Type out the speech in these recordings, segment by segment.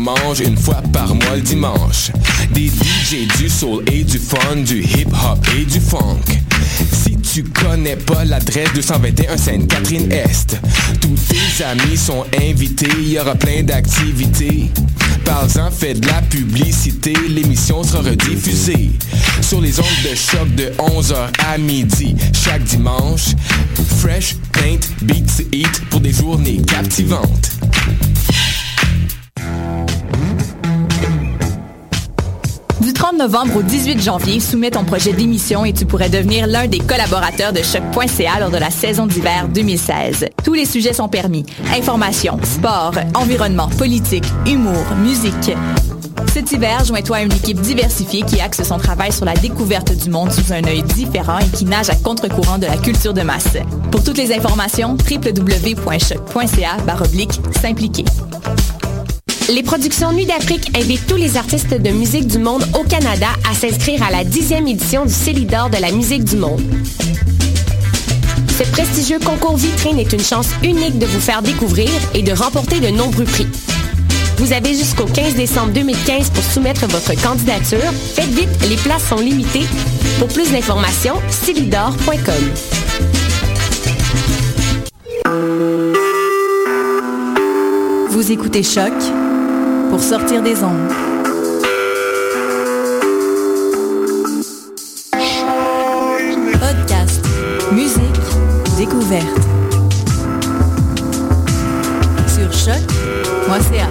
mange une fois par mois le dimanche. Des DJ, du soul et du fun, du hip-hop et du funk. Si tu connais pas l'adresse 221 Sainte-Catherine-Est, tous tes amis sont invités, il y aura plein d'activités. Parle-en, fais de la publicité, l'émission sera rediffusée sur les ondes de choc de 11h à midi chaque dimanche. Fresh, paint, beat to eat pour des journées captivantes. Du 30 novembre au 18 janvier, soumets ton projet d'émission et tu pourrais devenir l'un des collaborateurs de Choc.ca lors de la saison d'hiver 2016. Tous les sujets sont permis. Information, sport, environnement, politique, humour, musique. Cet hiver, joins-toi à une équipe diversifiée qui axe son travail sur la découverte du monde sous un œil différent et qui nage à contre-courant de la culture de masse. Pour toutes les informations, www.choc.ca/s'impliquer. Les productions Nuit d'Afrique invitent tous les artistes de musique du monde au Canada à s'inscrire à la 10e édition du Célidor de la musique du monde. Ce prestigieux concours vitrine est une chance unique de vous faire découvrir et de remporter de nombreux prix. Vous avez jusqu'au 15 décembre 2015 pour soumettre votre candidature. Faites vite, les places sont limitées. Pour plus d'informations, célidor.com. Vous écoutez Choc pour sortir des ondes. Podcast, musique, découverte. Sur choc.ca.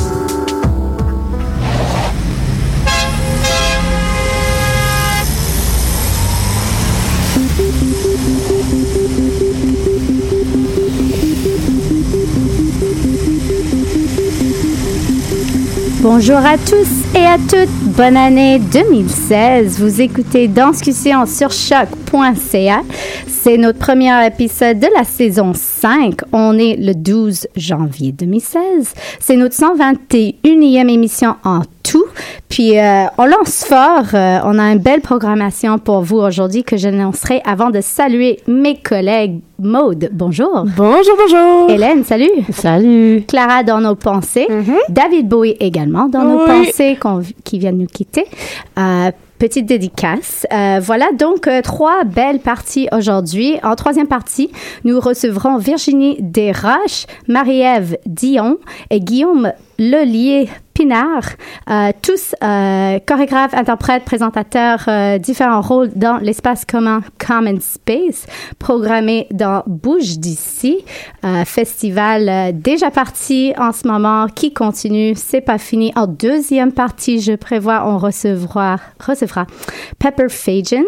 Bonjour à tous et à toutes, bonne année 2016. Vous écoutez Danscussion sur choc.ca. C'est notre premier épisode de la saison 5. On est le 12 janvier 2016. C'est notre 121e émission en tout. Puis, on lance fort. On a une belle programmation pour vous aujourd'hui que j'annoncerai avant de saluer mes collègues. Maude, bonjour. Bonjour, bonjour. Hélène, salut. Salut. Clara dans nos pensées. David Bowie également dans nos pensées qui vient de nous quitter. Petite dédicace. Voilà donc 3 belles parties aujourd'hui. En 3e partie, nous recevrons Virginie Desroches, Marie-Ève Dion et Guillaume Lelier-Pinard, tous chorégraphes, interprètes, présentateurs, différents rôles dans l'espace commun Common Space, programmé dans Bouge d'ici, festival déjà parti en ce moment, qui continue, c'est pas fini. En 2e partie, je prévois, on recevra Pepper Fagans,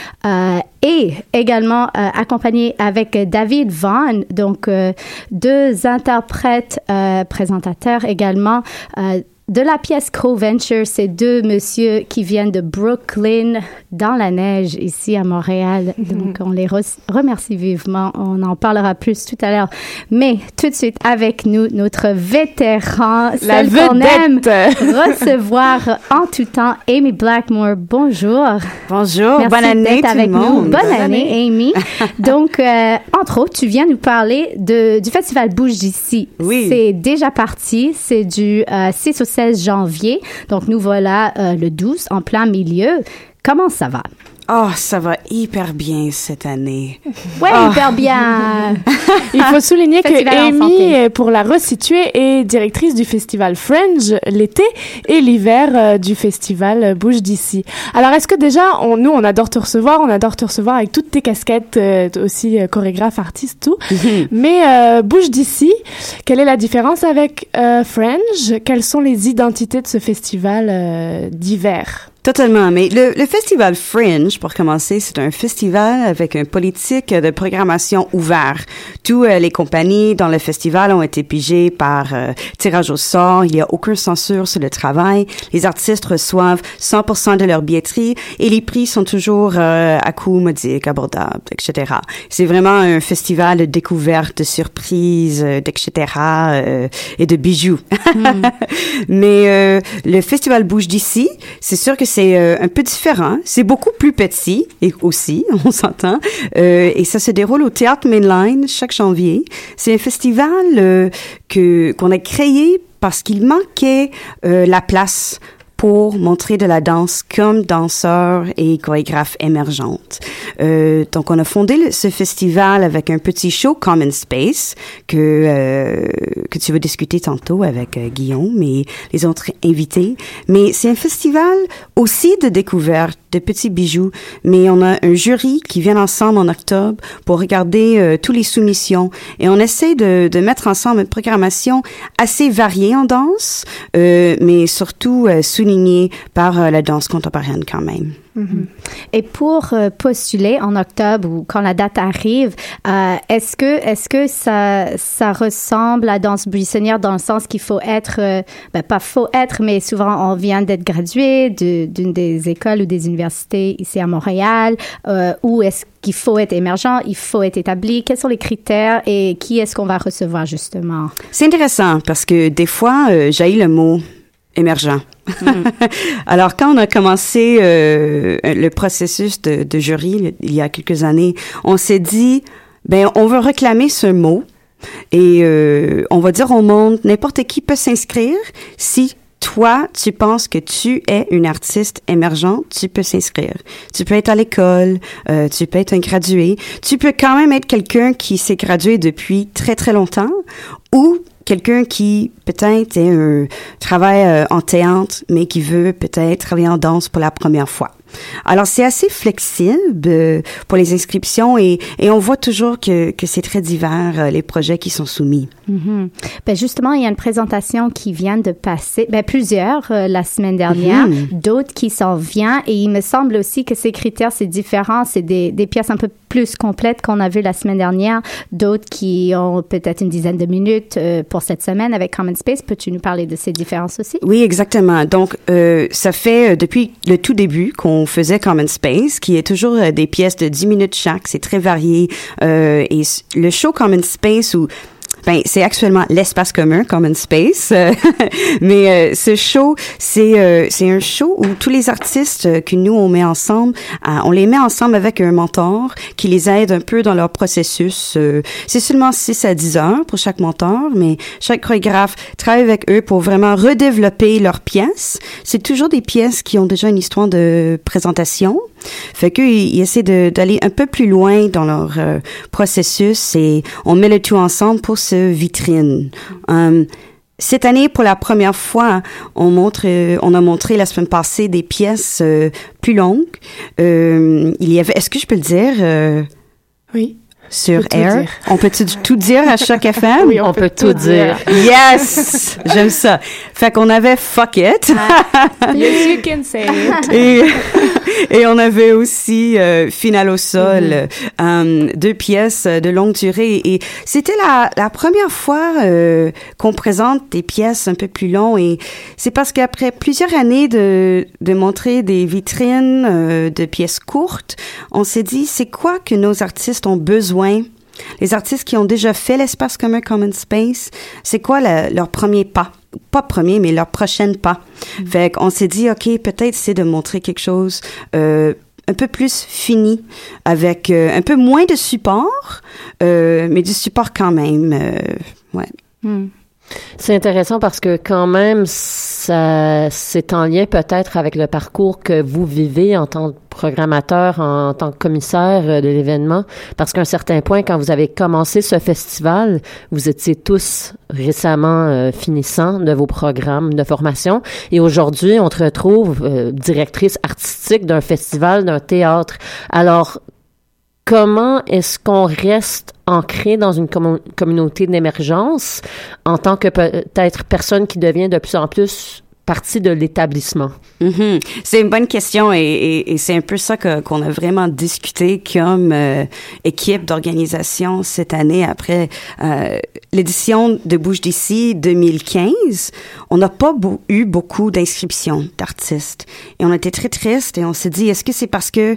et également accompagné avec David Vaughn, donc 2 interprètes, présentateurs également, de la pièce Co-Venture, c'est 2 messieurs qui viennent de Brooklyn, dans la neige, ici à Montréal. Donc, on les remercie vivement. On en parlera plus tout à l'heure. Mais tout de suite, avec nous, notre vétéran, la celle qu'on aime recevoir en tout temps, Amy Blackmore. Bonjour. Bonjour. Merci bonne année d'être tout avec le monde. Nous. Bonne année, Amy. Donc, entre autres, tu viens nous parler du festival Bouge d'ici. Oui. C'est déjà parti. C'est du 6 au 16 janvier. Donc, nous voilà le 12 en plein milieu. Comment ça va? Oh, ça va hyper bien cette année. Ouais, hyper bien. Il faut souligner que Festival en Amy, santé. pour la resituer, est directrice du festival Fringe l'été et l'hiver du festival Bouge d'ici. Alors, est-ce que déjà, nous, on adore te recevoir avec toutes tes casquettes, aussi chorégraphe, artiste, tout. Mais Bouge d'ici, quelle est la différence avec Fringe? Quelles sont les identités de ce festival d'hiver? Totalement. Mais le festival Fringe, pour commencer, c'est un festival avec une politique de programmation ouverte. Toutes les compagnies dans le festival ont été pigées par tirage au sort. Il n'y a aucune censure sur le travail. Les artistes reçoivent 100% de leur billetterie et les prix sont toujours à coût modique, abordables, etc. C'est vraiment un festival de découverte, de surprises, etc. Et de bijoux. Mais le festival Bouge d'ici, c'est sûr que c'est un peu différent. C'est beaucoup plus petit, et aussi, on s'entend. Et ça se déroule au Théâtre Mainline chaque janvier. C'est un festival qu'on a créé parce qu'il manquait la place pour montrer de la danse comme danseur et chorégraphe émergente. Donc, on a fondé ce festival avec un petit show Common Space que tu vas discuter tantôt avec Guillaume et les autres invités. Mais c'est un festival aussi de découverte, de petits bijoux. Mais on a un jury qui vient ensemble en octobre pour regarder tous les soumissions. Et on essaie de mettre ensemble une programmation assez variée en danse, mais surtout soulignée par la danse contemporaine quand même. Mm-hmm. Et pour postuler en octobre ou quand la date arrive, est-ce que ça ressemble à la danse buissonnière dans le sens qu'il faut être, pas faut être, mais souvent on vient d'être gradué d'une des écoles ou des universités ici à Montréal, ou est-ce qu'il faut être émergent, il faut être établi? Quels sont les critères et qui est-ce qu'on va recevoir justement? C'est intéressant parce que des fois, j'ai le mot émergent. Alors, quand on a commencé le processus de jury il y a quelques années, on s'est dit, on veut réclamer ce mot et on va dire au monde, n'importe qui peut s'inscrire. Si toi, tu penses que tu es une artiste émergente, tu peux s'inscrire. Tu peux être à l'école, tu peux être un gradué, tu peux quand même être quelqu'un qui s'est gradué depuis très, très longtemps ou quelqu'un qui peut-être travaille en théâtre, mais qui veut peut-être travailler en danse pour la première fois. Alors, c'est assez flexible pour les inscriptions et on voit toujours que c'est très divers, les projets qui sont soumis. Mm-hmm. Justement, il y a une présentation qui vient de passer, plusieurs la semaine dernière, d'autres qui s'en viennent et il me semble aussi que ces critères, c'est différent. C'est des pièces un peu plus complètes qu'on a vues la semaine dernière, d'autres qui ont peut-être une dizaine de minutes pour cette semaine avec Common Space. Peux-tu nous parler de ces différences aussi? Oui, exactement. Donc, ça fait depuis le tout début qu'on faisait Common Space, qui est toujours des pièces de 10 minutes chaque. C'est très varié. Et le show Common Space, c'est actuellement l'espace commun, Common Space. Mais ce show, c'est un show où tous les artistes que nous, on met ensemble, on les met ensemble avec un mentor qui les aide un peu dans leur processus. C'est seulement 6 à 10 heures pour chaque mentor, mais chaque chorégraphe travaille avec eux pour vraiment redévelopper leurs pièces. C'est toujours des pièces qui ont déjà une histoire de présentation. Fait qu'ils essaient d'aller un peu plus loin dans leur processus et on met le tout ensemble pour ce vitrine. Cette année, pour la première fois, on a montré la semaine passée des pièces plus longues. Il y avait, est-ce que je peux le dire? Oui. Sur Air. On peut tout dire à Choc FM? Oui, on peut tout dire. Yes! J'aime ça. Fait qu'on avait Fuck It. Yes, you can say it. Et on avait aussi Finale au sol, 2 pièces de longue durée. Et c'était la première fois qu'on présente des pièces un peu plus longues. Et c'est parce qu'après plusieurs années de montrer des vitrines de pièces courtes, on s'est dit, c'est quoi que nos artistes ont besoin? Les artistes qui ont déjà fait l'espace commun Common Space, c'est quoi leur premier pas? Pas premier, mais leur prochain pas. Fait qu'on s'est dit, OK, peut-être c'est de montrer quelque chose un peu plus fini, avec un peu moins de support, mais du support quand même. Ouais. C'est intéressant parce que quand même, c'est en lien peut-être avec le parcours que vous vivez en tant que programmateur, en tant que commissaire de l'événement, parce qu'à un certain point, quand vous avez commencé ce festival, vous étiez tous récemment finissants de vos programmes de formation et aujourd'hui, on te retrouve directrice artistique d'un festival, d'un théâtre. Alors, comment est-ce qu'on reste ancré dans une communauté d'émergence en tant que peut-être personne qui devient de plus en plus partie de l'établissement? C'est une bonne question et c'est un peu ça qu'on a vraiment discuté comme équipe d'organisation cette année après l'édition de Bouge d'ici 2015. On n'a pas eu beaucoup d'inscriptions d'artistes et on était très tristes et on s'est dit, est-ce que c'est parce que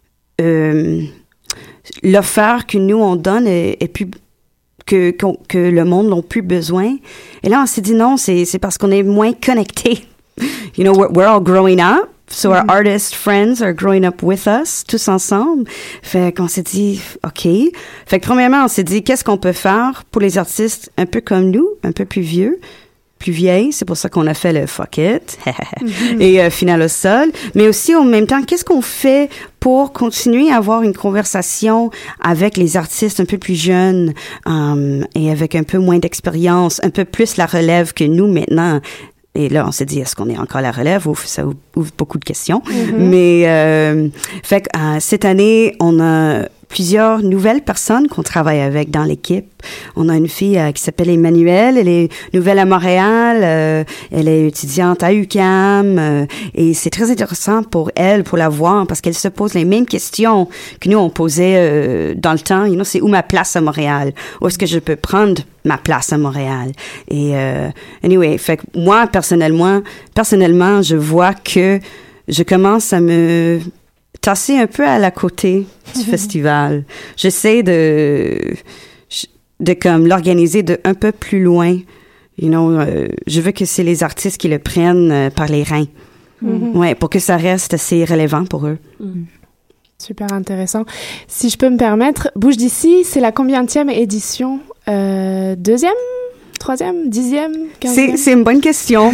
l'offre que nous on donne est plus que le monde n'a plus besoin. Et là on s'est dit non, c'est parce qu'on est moins connectés. You know, we're all growing up, so our artist friends are growing up with us, tous ensemble. Fait qu'on s'est dit OK. Fait que premièrement on s'est dit qu'est-ce qu'on peut faire pour les artistes un peu comme nous, un peu plus vieux. plus vieille. C'est pour ça qu'on a fait le fuck it et finale au sol. Mais aussi, en même temps, qu'est-ce qu'on fait pour continuer à avoir une conversation avec les artistes un peu plus jeunes et avec un peu moins d'expérience, un peu plus la relève que nous maintenant. Et là, on s'est dit, est-ce qu'on est encore la relève? Ça ouvre beaucoup de questions. Mais fait que cette année, on a plusieurs nouvelles personnes qu'on travaille avec dans l'équipe. On a une fille qui s'appelle Emmanuelle. Elle est nouvelle à Montréal. Elle est étudiante à UQAM. Et c'est très intéressant pour elle, pour la voir, parce qu'elle se pose les mêmes questions que nous, on posait dans le temps. You know, c'est où ma place à Montréal? Où est-ce que je peux prendre ma place à Montréal? Et anyway, fait que moi, personnellement, je vois que je commence à me tasser un peu à la côté du festival. J'essaie de comme l'organiser de un peu plus loin. You know, je veux que c'est les artistes qui le prennent par les reins. Ouais, pour que ça reste assez relevant pour eux. Super intéressant. Si je peux me permettre, Bouge d'ici, c'est la combienième édition? 2e? 3e? 10e? 15e? C'est une bonne question.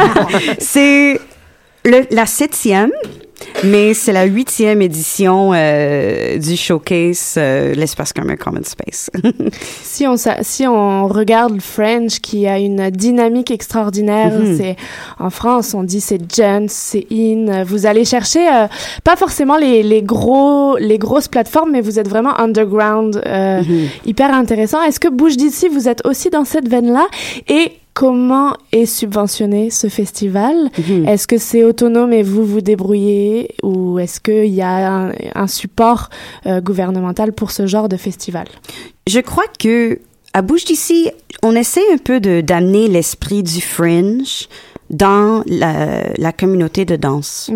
C'est la 7e. Mais c'est la 8e édition du showcase l'espace commun Common Space. Si on regarde Fringe, qui a une dynamique extraordinaire, c'est en France, on dit c'est Gens, c'est In. Vous allez chercher pas forcément les grosses plateformes, mais vous êtes vraiment underground, hyper intéressant. Est-ce que Bouge d'ici, vous êtes aussi dans cette veine-là? Et comment est subventionné ce festival? Est-ce que c'est autonome et vous vous débrouillez, ou est-ce qu'il y a un support gouvernemental pour ce genre de festival? Je crois que à Bouge d'ici, on essaie un peu d'amener l'esprit du Fringe dans la communauté de danse.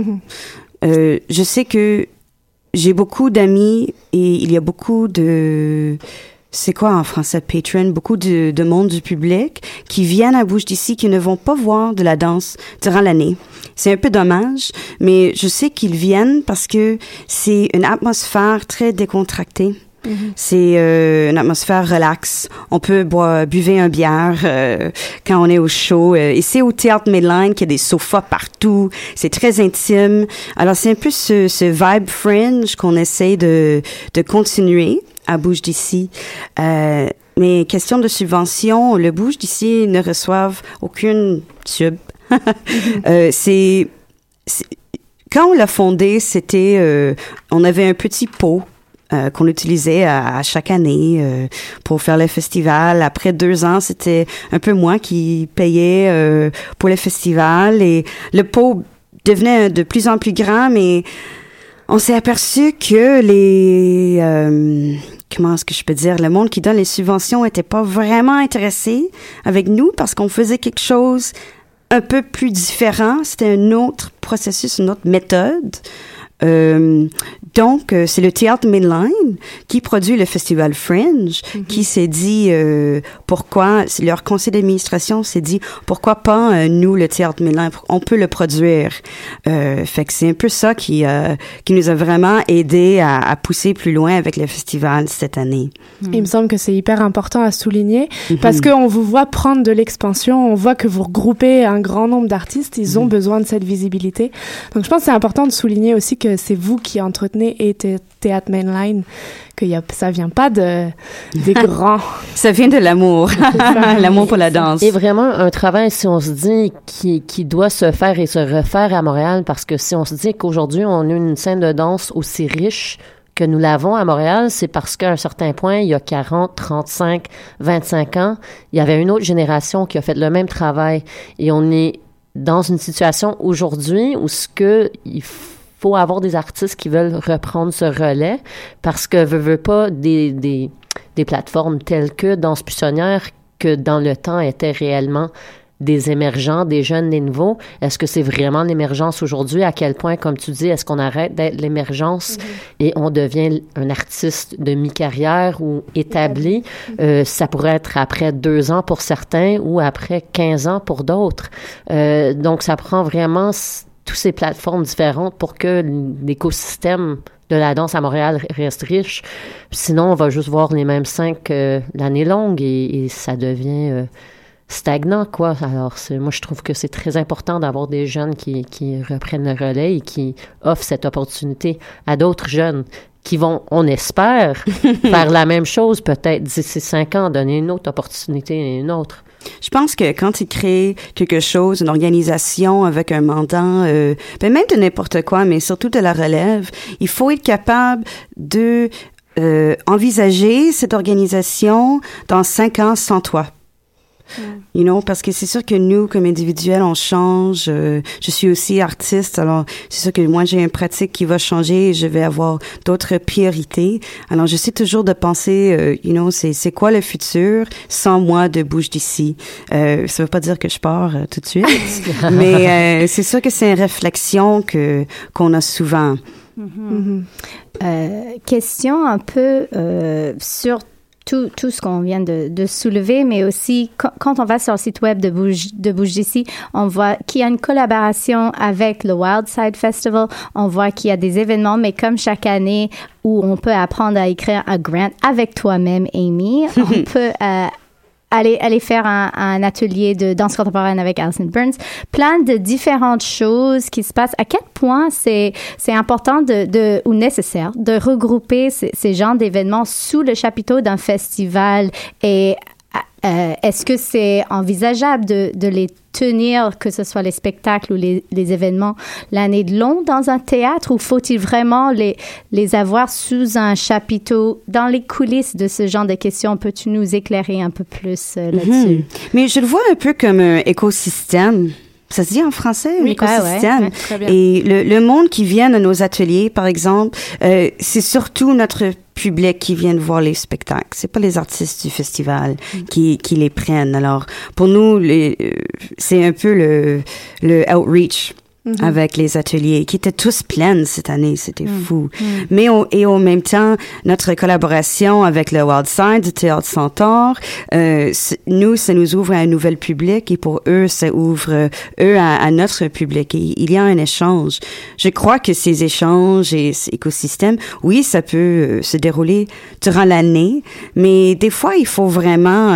Je sais que j'ai beaucoup d'amis et il y a beaucoup de... C'est quoi en français, patron? Beaucoup de monde du public qui viennent à Bouge d'ici, qui ne vont pas voir de la danse durant l'année. C'est un peu dommage, mais je sais qu'ils viennent parce que c'est une atmosphère très décontractée. C'est une atmosphère relax. On peut buver un bière quand on est au show. Et c'est au Théâtre Medline qu'il y a des sofas partout. C'est très intime. Alors, c'est un peu ce vibe Fringe qu'on essaie de continuer à Bouge d'ici. Mais question de subvention, le Bouge d'ici ne reçoivent aucune sub. Quand on l'a fondé, c'était on avait un petit pot qu'on utilisait à chaque année pour faire le festival. Après 2 ans, c'était un peu moi qui payais pour le festival, et le pot devenait de plus en plus grand, mais on s'est aperçu que comment est-ce que je peux dire, le monde qui donne les subventions était pas vraiment intéressé avec nous parce qu'on faisait quelque chose un peu plus différent. C'était un autre processus, une autre méthode. Donc, c'est le Théâtre Medline qui produit le Festival Fringe, qui s'est dit pourquoi, leur conseil d'administration s'est dit pourquoi pas nous, le Théâtre Medline, on peut le produire. Fait que c'est un peu ça qui nous a vraiment aidé à pousser plus loin avec le festival cette année. Il me semble que c'est hyper important à souligner parce qu'on vous voit prendre de l'expansion, on voit que vous regroupez un grand nombre d'artistes, ils ont besoin de cette visibilité. Donc, je pense que c'est important de souligner aussi que c'est vous qui entretenez et Théâtre Medline, que ça vient pas des grands. Ça vient de l'amour, l'amour pour la danse. Et vraiment un travail, si on se dit, qui doit se faire et se refaire à Montréal, parce que si on se dit qu'aujourd'hui, on a une scène de danse aussi riche que nous l'avons à Montréal, c'est parce qu'à un certain point, il y a 40, 35, 25 ans, il y avait une autre génération qui a fait le même travail. Et on est dans une situation aujourd'hui où il faut avoir des artistes qui veulent reprendre ce relais parce que veut pas des plateformes telles que Danse Buissonnière, que dans le temps étaient réellement des émergents, des jeunes, des nouveaux. Est-ce que c'est vraiment l'émergence aujourd'hui? À quel point, comme tu dis, est-ce qu'on arrête d'être l'émergence et on devient un artiste de mi-carrière ou établi? Ça pourrait être après 2 ans pour certains ou après 15 ans pour d'autres. Donc, ça prend vraiment toutes ces plateformes différentes pour que l'écosystème de la danse à Montréal reste riche. Sinon, on va juste voir les mêmes 5 l'année longue et ça devient stagnant, quoi. Alors, moi, je trouve que c'est très important d'avoir des jeunes qui reprennent le relais et qui offrent cette opportunité à d'autres jeunes qui vont, on espère, faire la même chose peut-être d'ici 5 ans, donner une autre opportunité et une autre. Je pense que quand tu crées quelque chose, une organisation avec un mandat, même de n'importe quoi, mais surtout de la relève, il faut être capable de envisager cette organisation dans 5 ans sans toi. You know, parce que c'est sûr que nous, comme individuels, on change. Je suis aussi artiste, alors c'est sûr que moi, j'ai une pratique qui va changer et je vais avoir d'autres priorités. Alors, j'essaie toujours de penser, you know, c'est quoi le futur sans moi de bouge d'ici. Ça veut pas dire que je pars tout de suite, mais c'est sûr que c'est une réflexion qu'on a souvent. Question un peu sur tout ce qu'on vient de soulever, mais aussi quand on va sur le site web de Bouge d'ici, on voit qu'il y a une collaboration avec le Wildside Festival. On voit qu'il y a des événements, mais comme chaque année où on peut apprendre à écrire un grant avec toi-même, Amy, on peut aller faire un atelier de danse contemporaine avec Alison Burns. Plein de différentes choses qui se passent. À quel point c'est important ou nécessaire de regrouper ces genres d'événements sous le chapiteau d'un festival et est-ce que c'est envisageable de les tenir, que ce soit les spectacles ou les événements, l'année de long dans un théâtre ou faut-il vraiment les avoir sous un chapiteau dans les coulisses de ce genre de questions? Peux-tu nous éclairer un peu plus là-dessus? Mais je le vois un peu comme un écosystème. Ça se dit en français, un écosystème. Très bien. Et le monde qui vient à nos ateliers, par exemple, c'est surtout notre public qui vient voir les spectacles. C'est pas les artistes du festival qui les prennent. Alors, pour nous, c'est un peu le outreach. Avec les ateliers qui étaient tous pleins cette année, c'était fou. Mais en même temps, notre collaboration avec le Wildside du Théâtre Centaure, ça nous ouvre à un nouvel public et pour eux, ça ouvre à notre public. Et il y a un échange. Je crois que ces échanges et cet écosystème, oui, ça peut se dérouler durant l'année, mais des fois, il faut vraiment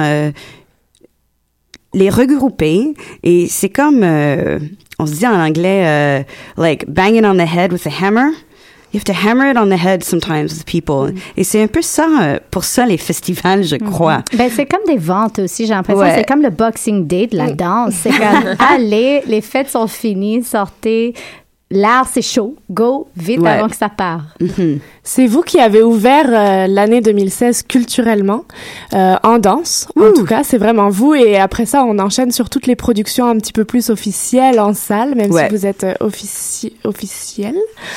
les regrouper et c'est comme on se dit en anglais like banging on the head with a hammer. You have to hammer it on the head sometimes with people. Et c'est un peu ça, pour ça, les festivals, je crois. Ben, c'est comme des ventes aussi, j'ai l'impression. Ouais. C'est comme le Boxing Day de la danse. C'est comme, allez, les fêtes sont finies, sortez. L'art, c'est chaud. Go, vite avant que ça part. C'est vous qui avez ouvert l'année 2016 culturellement, en danse. En tout cas, c'est vraiment vous. Et après ça, on enchaîne sur toutes les productions un petit peu plus officielles en salle, même si vous êtes officiel.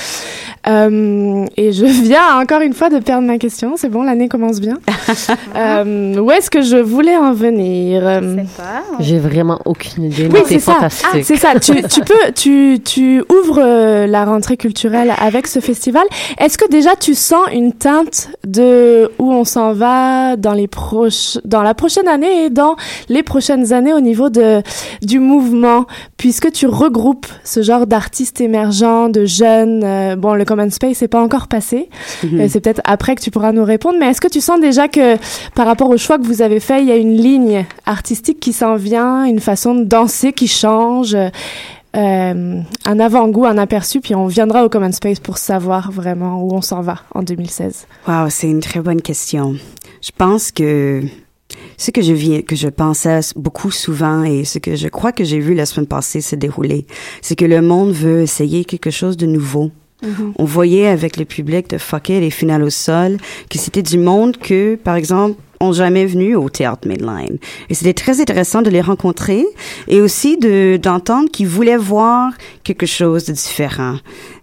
Et je viens encore une fois de perdre ma question. C'est bon, l'année commence bien. Où est-ce que je voulais en venir? Je sais pas. J'ai vraiment aucune idée. Oui, c'est fantastique. C'est ça. Tu ouvres la rentrée culturelle avec ce festival. Est-ce que déjà tu sens une teinte de où on s'en va dans la prochaine année et dans les prochaines années au niveau du mouvement, puisque tu regroupes ce genre d'artistes émergents, de jeunes. Bon, le Common Space c'est pas encore passé. C'est peut-être après que tu pourras nous répondre. Mais est-ce que tu sens déjà que par rapport au choix que vous avez fait, il y a une ligne artistique qui s'en vient, une façon de danser qui change? Un avant-goût, un aperçu, puis on viendra au Common Space pour savoir vraiment où on s'en va en 2016. Wow, c'est une très bonne question. Je pense que ce que je pensais beaucoup souvent et ce que je crois que j'ai vu la semaine passée se dérouler, c'est que le monde veut essayer quelque chose de nouveau. On voyait avec le public de Fuck It et Finale au sol que c'était du monde que, par exemple, ont jamais venu au Théâtre Mainline. Et c'était très intéressant de les rencontrer et aussi d'entendre qu'ils voulaient voir quelque chose de différent.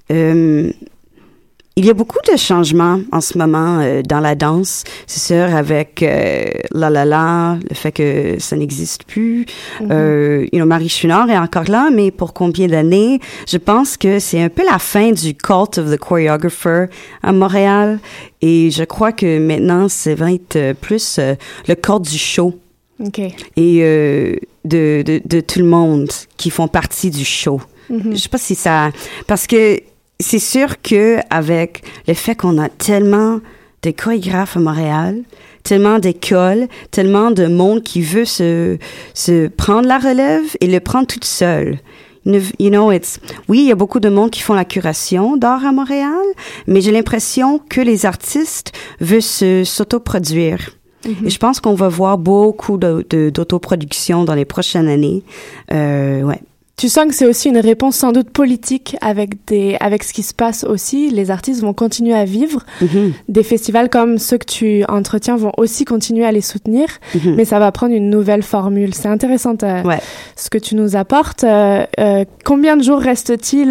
Il y a beaucoup de changements en ce moment dans la danse, c'est sûr, avec La La La, le fait que ça n'existe plus. Marie Chouinard est encore là, mais pour combien d'années? Je pense que c'est un peu la fin du cult of the choreographer à Montréal. Et je crois que maintenant, ça va être plus le culte du show. Okay. Et de tout le monde qui font partie du show. Je sais pas si ça... Parce que c'est sûr que avec le fait qu'on a tellement de chorégraphes à Montréal, tellement d'écoles, tellement de monde qui veut se prendre la relève et le prendre toute seule. You know, oui, il y a beaucoup de monde qui font la curation d'art à Montréal, mais j'ai l'impression que les artistes veulent s'autoproduire. Et je pense qu'on va voir beaucoup d'autoproduction dans les prochaines années. Ouais. Tu sens que c'est aussi une réponse sans doute politique avec ce qui se passe aussi. Les artistes vont continuer à vivre. Des festivals comme ceux que tu entretiens vont aussi continuer à les soutenir, mais ça va prendre une nouvelle formule. C'est intéressant ce que tu nous apportes. Combien de jours reste-t-il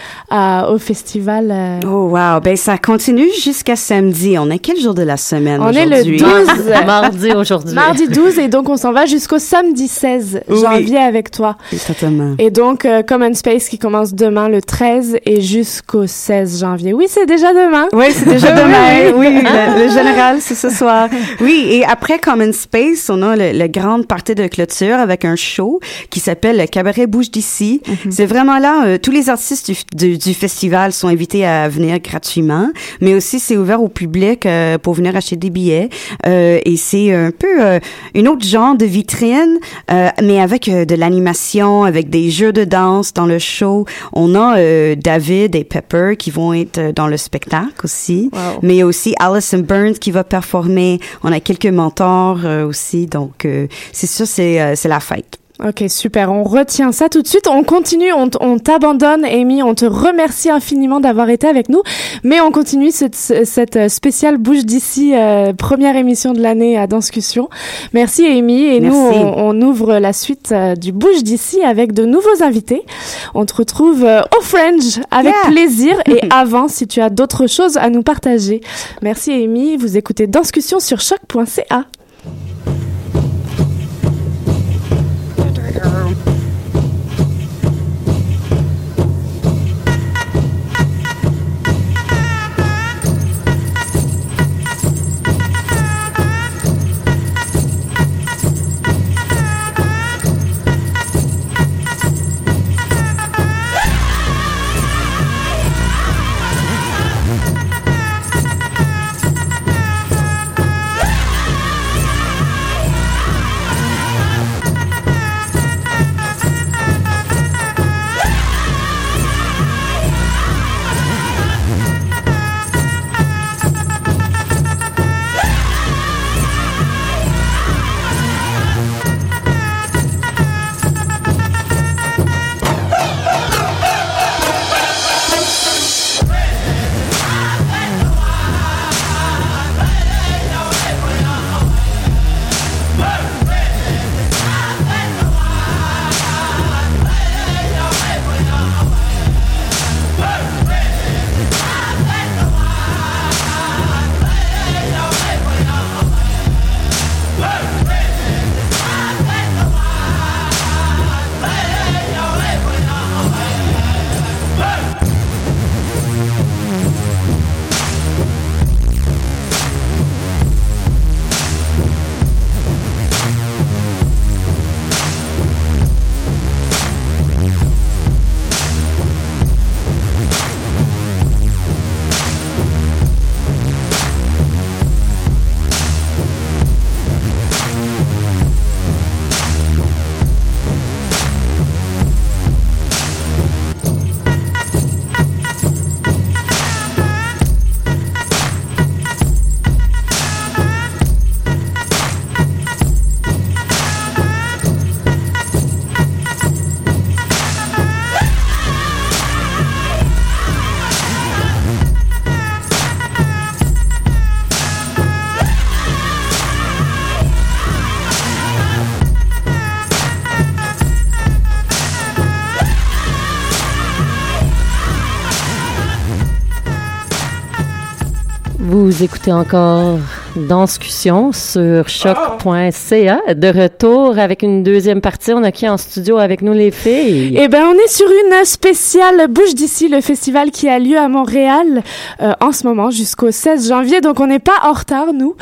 au festival? Oh wow, ben ça continue jusqu'à samedi. On est quel jour de la semaine aujourd'hui? On est le 12. Mardi aujourd'hui. Mardi 12 et donc on s'en va jusqu'au samedi 16 janvier avec toi. Exactement. Et donc, Common Space qui commence demain le 13 et jusqu'au 16 janvier. Oui, c'est déjà demain. Oui, c'est déjà demain. Oui, le général, c'est ce soir. Oui, et après Common Space, on a le grande partie de clôture avec un show qui s'appelle le Cabaret Bouge d'ici. C'est vraiment là, tous les artistes du festival sont invités à venir gratuitement, mais aussi c'est ouvert au public pour venir acheter des billets. Et c'est un peu une autre genre de vitrine, mais avec de l'animation, avec des jeux de danse dans le show. On a David et Pepper qui vont être dans le spectacle aussi. Wow. Mais il y a aussi Alison Burns qui va performer. On a quelques mentors aussi. Donc, c'est sûr, c'est la fête. Ok, super. On retient ça tout de suite. On continue. On t'abandonne, Amy. On te remercie infiniment d'avoir été avec nous. Mais on continue cette spéciale Bouge d'ici, première émission de l'année à Danscussion. Merci, Amy. Et merci. Nous, on ouvre la suite du Bouge d'ici avec de nouveaux invités. On te retrouve au Fringe avec plaisir. Et avant, si tu as d'autres choses à nous partager. Merci, Amy. Vous écoutez Danscussion sur choc.ca. Vous écoutez encore Danscussion sur choc.ca. De retour avec une deuxième partie. On a qui en studio avec nous, les filles? Eh ben, on est sur une spéciale Bouge d'ici, le festival qui a lieu à Montréal en ce moment jusqu'au 16 janvier. Donc, on n'est pas en retard, nous.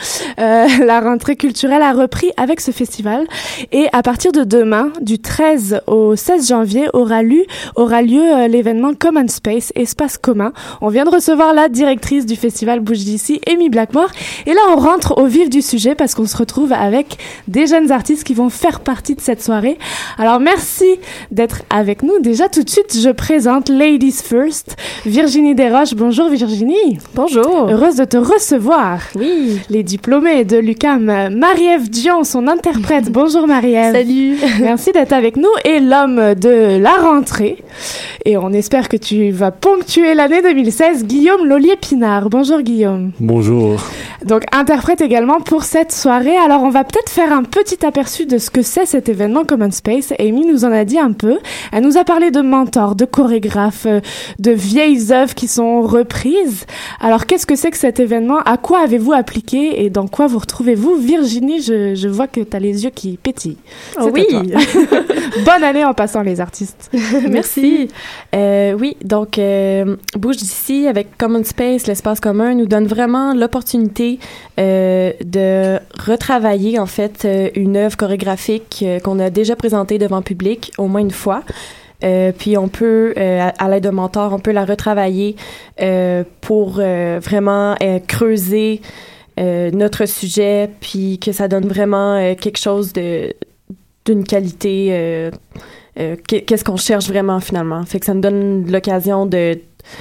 La rentrée culturelle a repris avec ce festival. Et à partir de demain, du 13 au 16 janvier, aura lieu l'événement Common Space, espace commun. On vient de recevoir la directrice du festival Bouge d'ici, Amy Blackmore. Et là, on rentre au vif du sujet parce qu'on se retrouve avec des jeunes artistes qui vont faire partie de cette soirée. Alors, merci d'être avec nous. Déjà, tout de suite, je présente Ladies First, Virginie Desroches. Bonjour Virginie. Bonjour. Heureuse de te recevoir. Oui. Les diplômés de l'UQAM, Marie-Ève Dion, son interprète. Bonjour Marie-Ève. Salut. Merci d'être avec nous. Et l'homme de la rentrée. Et on espère que tu vas ponctuer l'année 2016, Guillaume Lollier-Pinard. Bonjour Guillaume. Bonjour. Donc interprète également pour cette soirée. Alors on va peut-être faire un petit aperçu de ce que c'est cet événement Common Space. Amy nous en a dit un peu. Elle nous a parlé de mentors, de chorégraphes, de vieilles œuvres qui sont reprises. Alors qu'est-ce que c'est que cet événement? À quoi avez-vous appliqué et dans quoi vous retrouvez-vous? Virginie, je vois que tu as les yeux qui pétillent. Oh oui. Bonne année en passant les artistes. Merci. Oui, donc Bouge d'ici avec Common Space, l'espace commun, nous donne vraiment l'opportunité de retravailler en fait une œuvre chorégraphique qu'on a déjà présentée devant le public au moins une fois. Puis on peut, à l'aide de mentors, on peut la retravailler pour vraiment creuser notre sujet, puis que ça donne vraiment quelque chose d'une qualité. Qu'est-ce qu'on cherche vraiment finalement. Fait que ça nous donne l'occasion de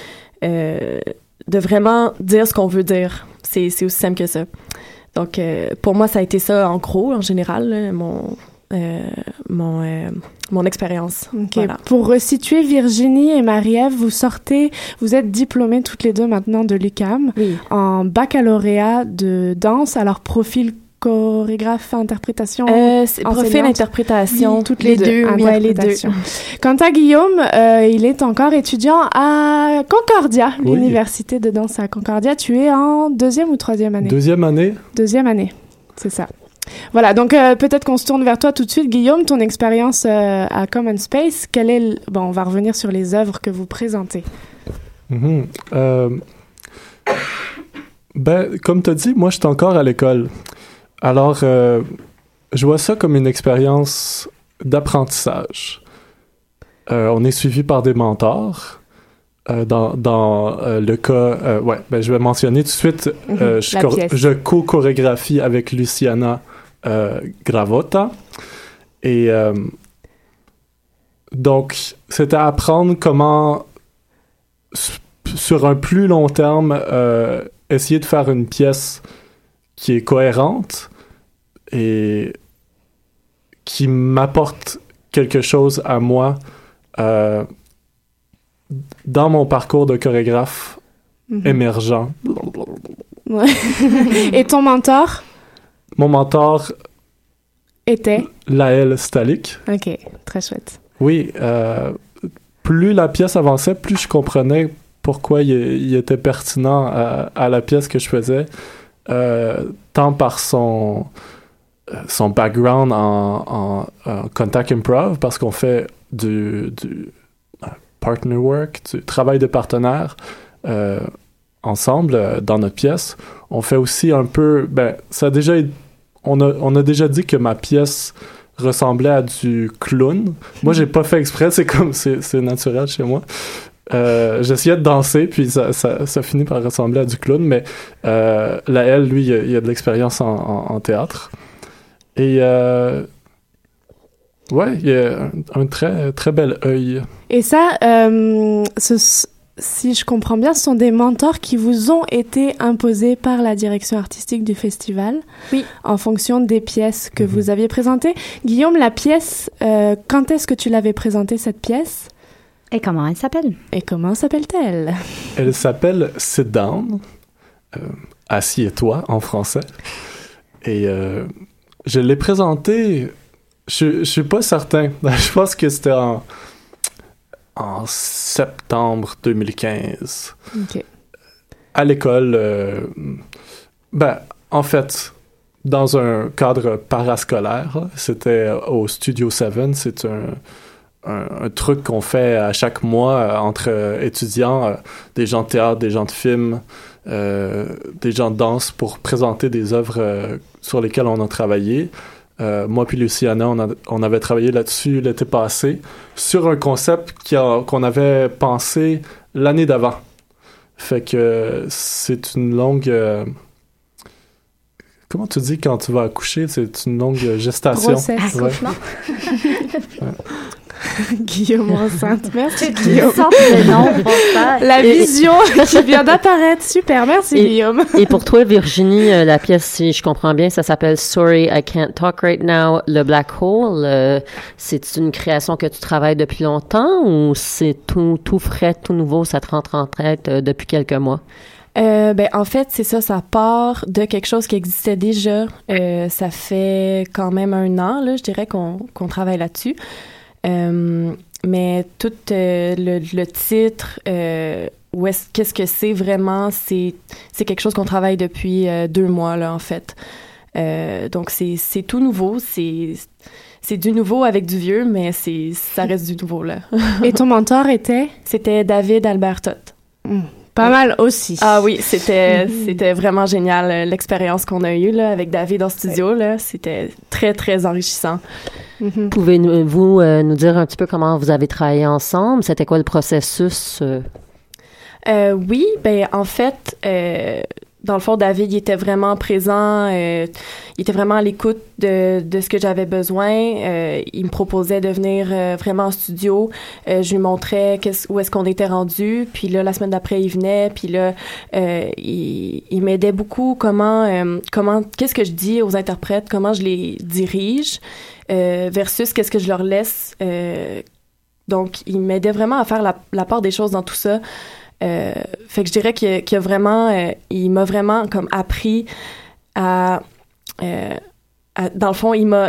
vraiment dire ce qu'on veut dire. C'est aussi simple que ça. Donc, pour moi, ça a été ça en gros, en général, là, mon expérience. Okay. Voilà. Pour resituer, Virginie et Marie-Ève, vous êtes diplômées toutes les deux maintenant de l'UQAM en baccalauréat de danse. Alors, profil chorégraphe, interprétation, c'est profil interprétation, oui, toutes les deux. Ouais, les deux. Quant à Guillaume, il est encore étudiant à Concordia, l'université de danse à Concordia. Tu es en deuxième ou troisième année? Deuxième année. Deuxième année, c'est ça. Voilà, donc peut-être qu'on se tourne vers toi tout de suite. Guillaume, ton expérience à Common Space, bon, on va revenir sur les œuvres que vous présentez. Comme tu as dit, moi, je suis encore à l'école. Alors, je vois ça comme une expérience d'apprentissage. On est suivi par des mentors. Dans le cas... je vais mentionner tout de suite, je co-chorégraphie avec Luciana Gravota. Et donc, c'était apprendre comment, sur un plus long terme, essayer de faire une pièce qui est cohérente et qui m'apporte quelque chose à moi dans mon parcours de chorégraphe émergent. Ouais. Et ton mentor? Mon mentor était? Laël Stalik. OK, très chouette. Oui, plus la pièce avançait, plus je comprenais pourquoi il était pertinent à la pièce que je faisais. Tant par son background en contact improv, parce qu'on fait du partner work, du travail de partenaire ensemble dans notre pièce. On fait aussi un peu... on a déjà dit que ma pièce ressemblait à du clown. Moi, j'ai pas fait exprès, c'est naturel chez moi. J'essayais de danser, puis ça finit par ressembler à du clown, mais Laël, lui, il a de l'expérience en théâtre. Et il a un très, très bel œil. Et ça, si je comprends bien, ce sont des mentors qui vous ont été imposés par la direction artistique du festival, en fonction des pièces que vous aviez présentées. Guillaume, la pièce, quand est-ce que tu l'avais présentée, cette pièce? Et comment elle s'appelle? Et comment s'appelle-t-elle? Elle s'appelle Sit Down, Assieds-toi en français. Et je l'ai présentée, je suis pas certain. Je pense que c'était en septembre 2015. OK. À l'école, en fait, dans un cadre parascolaire, c'était au Studio 7, c'est un truc qu'on fait à chaque mois entre étudiants, des gens de théâtre, des gens de film, des gens de danse pour présenter des œuvres sur lesquelles on a travaillé. Moi puis Luciana, on avait travaillé là-dessus l'été passé sur un concept qu'on avait pensé l'année d'avant. Fait que c'est une longue... comment tu dis quand tu vas accoucher? C'est une longue gestation. Grossesse. Accouchement. Guillaume enceinte. Merci, Une Guillaume. sorte de nom pour ça. La vision qui vient d'apparaître. Super, merci, Guillaume. Et pour toi, Virginie, la pièce, si je comprends bien, ça s'appelle Sorry, I Can't Talk Right Now, Le Black Hole. C'est une création que tu travailles depuis longtemps ou c'est tout frais, tout nouveau, ça te rentre en tête depuis quelques mois? En fait, c'est ça part de quelque chose qui existait déjà. Ça fait quand même 1 an, là, je dirais qu'on travaille là-dessus. Mais tout le titre, qu'est-ce que c'est vraiment, c'est quelque chose qu'on travaille depuis 2 mois, là, en fait. Donc, c'est tout nouveau, c'est du nouveau avec du vieux, mais ça reste du nouveau, là. Et ton mentor était? C'était David Albert Toth. Pas mal aussi. Ah oui, c'était vraiment génial, l'expérience qu'on a eue, là, avec David en studio, là. C'était très, très enrichissant. Pouvez-vous nous dire un petit peu comment vous avez travaillé ensemble? C'était quoi le processus? Oui, en fait, dans le fond, David, il était vraiment présent, il était vraiment à l'écoute de ce que j'avais besoin. Il me proposait de venir vraiment en studio. Je lui montrais où est-ce qu'on était rendu. Puis là, la semaine d'après, il venait. Puis là, il m'aidait beaucoup qu'est-ce que je dis aux interprètes, comment je les dirige, versus qu'est-ce que je leur laisse. Donc, il m'aidait vraiment à faire la part des choses dans tout ça. Fait que je dirais qu'il a vraiment, il m'a vraiment comme appris à dans le fond, il m'a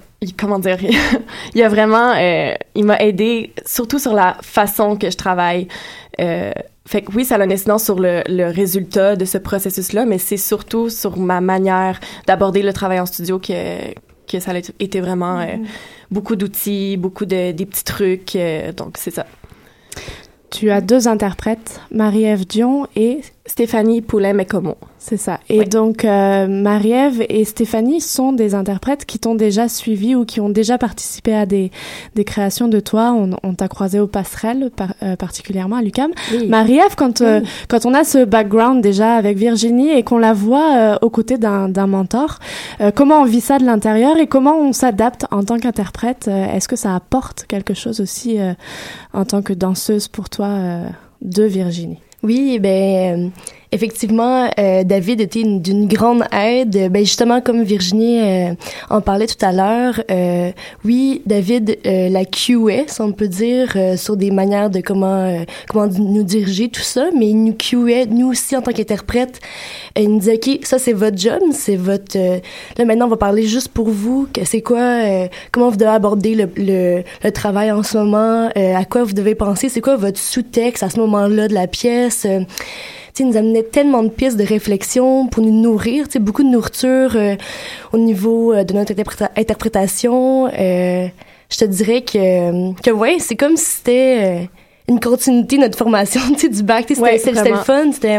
vraiment, il m'a aidé surtout sur la façon que je travaille. Fait que oui, ça a une incidence sur le résultat de ce processus-là, mais c'est surtout sur ma manière d'aborder le travail en studio que ça a été vraiment beaucoup d'outils, beaucoup des petits trucs. Donc, c'est ça. Tu as 2 interprètes, Marie-Ève Dion et Stéphanie Poulin-Mécomo. C'est ça. Et donc, Marie-Ève et Stéphanie sont des interprètes qui t'ont déjà suivi ou qui ont déjà participé à des créations de toi. On t'a croisé aux passerelles, particulièrement à l'UQAM. Oui. Marie-Ève, quand on a ce background déjà avec Virginie et qu'on la voit aux côtés d'un mentor, comment on vit ça de l'intérieur et comment on s'adapte en tant qu'interprète? Est-ce que ça apporte quelque chose aussi en tant que danseuse pour toi de Virginie? Oui, effectivement, David était d'une grande aide. Justement, comme Virginie en parlait tout à l'heure, oui, David la cueait, si on peut dire, sur des manières de comment nous diriger, tout ça, mais il nous cueait, nous aussi, en tant qu'interprète. Il nous disait, OK, ça, c'est votre job, c'est votre... là, maintenant, on va parler juste pour vous, que c'est quoi, comment vous devez aborder le travail en ce moment, à quoi vous devez penser, c'est quoi votre sous-texte à ce moment-là de la pièce. Il nous amenait tellement de pistes de réflexion pour nous nourrir, beaucoup de nourriture au niveau de notre interprétation. Je te dirais que ouais, c'est comme si c'était une continuité de notre formation, du bac. C'était le fun. C'était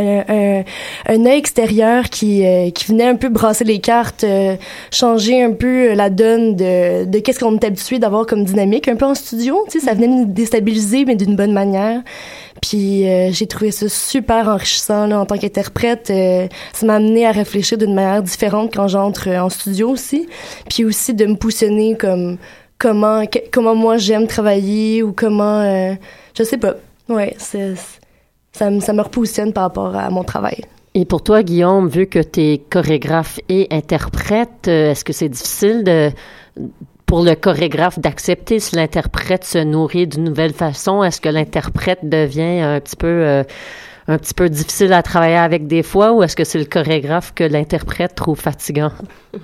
un œil extérieur qui venait un peu brasser les cartes, changer un peu la donne de qu'est-ce qu'on est habitué d'avoir comme dynamique un peu en studio. Ça venait nous déstabiliser, mais d'une bonne manière. Puis j'ai trouvé ça super enrichissant là, en tant qu'interprète. Ça m'a amené à réfléchir d'une manière différente quand j'entre en studio aussi. Puis aussi de me positionner comme comment moi j'aime travailler ou comment... je sais pas. Ouais, ça me repositionne par rapport à mon travail. Et pour toi, Guillaume, vu que tu es chorégraphe et interprète, est-ce que c'est difficile pour le chorégraphe d'accepter si l'interprète se nourrit d'une nouvelle façon? Est-ce que l'interprète devient un petit peu difficile à travailler avec des fois, ou est-ce que c'est le chorégraphe que l'interprète trouve fatigant?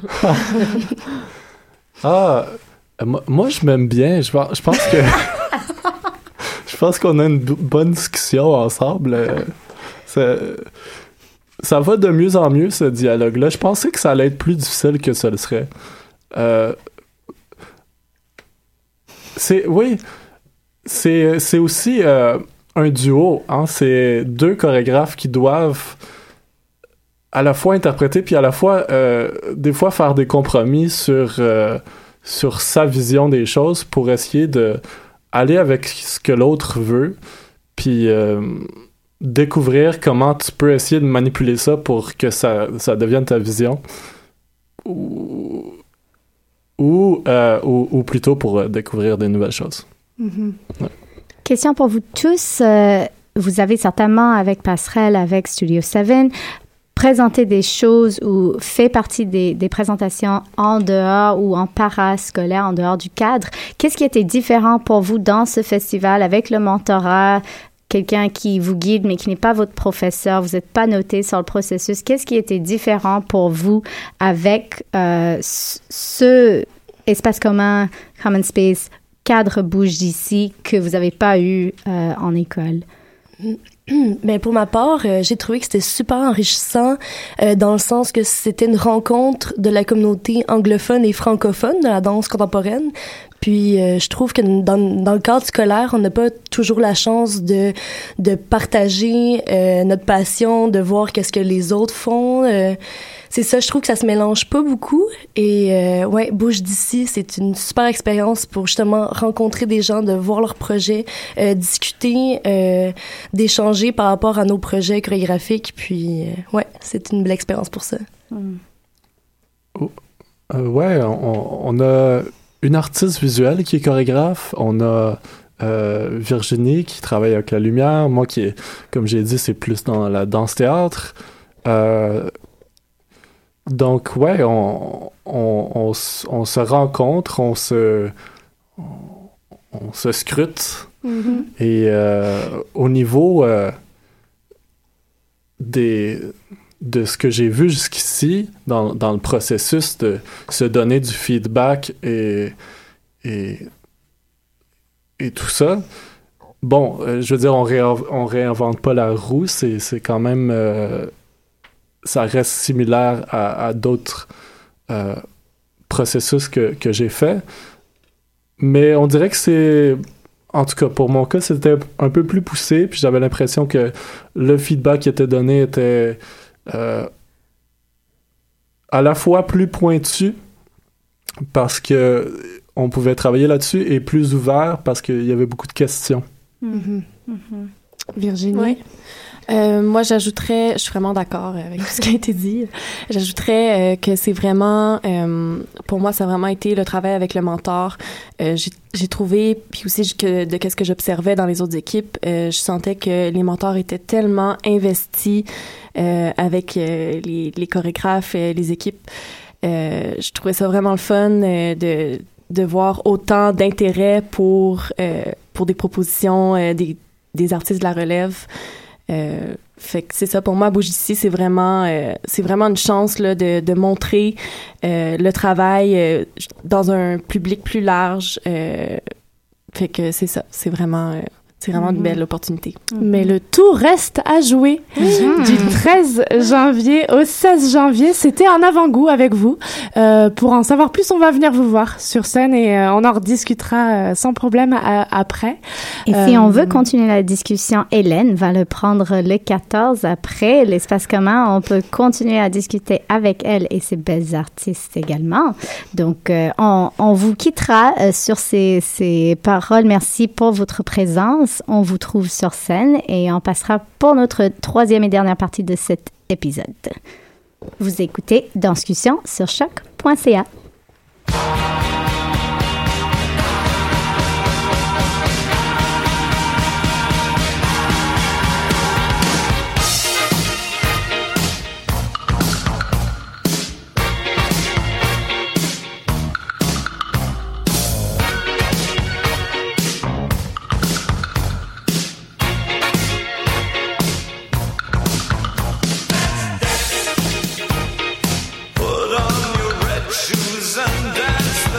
Moi, je m'aime bien. Je pense que... je pense qu'on a une bonne discussion ensemble. Ça va de mieux en mieux, ce dialogue-là. Je pensais que ça allait être plus difficile que ça le serait. C'est aussi un duo. Hein? C'est 2 chorégraphes qui doivent à la fois interpréter puis à la fois, des fois, faire des compromis sur sa vision des choses pour essayer de aller avec ce que l'autre veut. Puis découvrir comment tu peux essayer de manipuler ça pour que ça devienne ta vision, ou plutôt pour découvrir des nouvelles choses. Mm-hmm. Ouais. Question pour vous tous. Vous avez certainement, avec Passerelle, avec Studio 7, présenté des choses ou fait partie des présentations en dehors ou en parascolaire, en dehors du cadre. Qu'est-ce qui était différent pour vous dans ce festival avec le mentorat? Quelqu'un qui vous guide, mais qui n'est pas votre professeur, vous n'êtes pas noté sur le processus. Qu'est-ce qui était différent pour vous avec ce espace commun, Common Space, cadre Bouge d'ici, que vous n'avez pas eu en école? Ben pour ma part, j'ai trouvé que c'était super enrichissant dans le sens que c'était une rencontre de la communauté anglophone et francophone de la danse contemporaine. Puis je trouve que dans le cadre scolaire, on n'a pas toujours la chance de partager notre passion, de voir qu'est-ce que les autres font. C'est ça, je trouve que ça se mélange pas beaucoup. Et ouais, Bouge d'ici, c'est une super expérience pour justement rencontrer des gens, de voir leurs projets, discuter, d'échanger par rapport à nos projets chorégraphiques. Puis ouais, c'est une belle expérience pour ça. Ouais, on a une artiste visuelle qui est chorégraphe. On a Virginie qui travaille avec la lumière. Moi qui, comme j'ai dit, c'est plus dans la danse-théâtre. Donc, ouais, on se rencontre, on se scrute. Mm-hmm. Et au niveau de ce que j'ai vu jusqu'ici, dans le processus de se donner du feedback et tout ça, bon, je veux dire, on réinvente pas la roue, c'est quand même... ça reste similaire à d'autres processus que j'ai fait. Mais on dirait que c'est... En tout cas, pour mon cas, c'était un peu plus poussé, puis j'avais l'impression que le feedback qui était donné était à la fois plus pointu, parce que on pouvait travailler là-dessus, et plus ouvert, parce qu'il y avait beaucoup de questions. Mm-hmm. Mm-hmm. Virginie? Oui. Moi, j'ajouterais, je suis vraiment d'accord avec tout ce qui a été dit, j'ajouterais que c'est vraiment, pour moi, ça a vraiment été le travail avec le mentor. J'ai trouvé, puis aussi de qu'est-ce que j'observais dans les autres équipes, je sentais que les mentors étaient tellement investis avec les chorégraphes, les équipes. Je trouvais ça vraiment le fun de voir autant d'intérêt pour des propositions des artistes de la relève. Fait que c'est ça, pour moi, Bouge d'ici, c'est vraiment une chance là, de montrer le travail dans un public plus large. Fait que c'est ça, c'est vraiment une belle opportunité. Mais le tout reste à jouer. Du 13 janvier au 16 janvier, c'était un avant-goût avec vous. Pour en savoir plus, on va venir vous voir sur scène et on en rediscutera sans problème après. Et si on veut continuer la discussion, Hélène va le prendre le 14 après l'espace commun. On peut continuer à discuter avec elle et ses belles artistes également. Donc, on vous quittera sur ces paroles. Merci pour votre présence. On vous trouve sur scène et on passera pour notre troisième et dernière partie de cet épisode. Vous écoutez Danscussion sur choc.ca. Put on your red shoes and dance.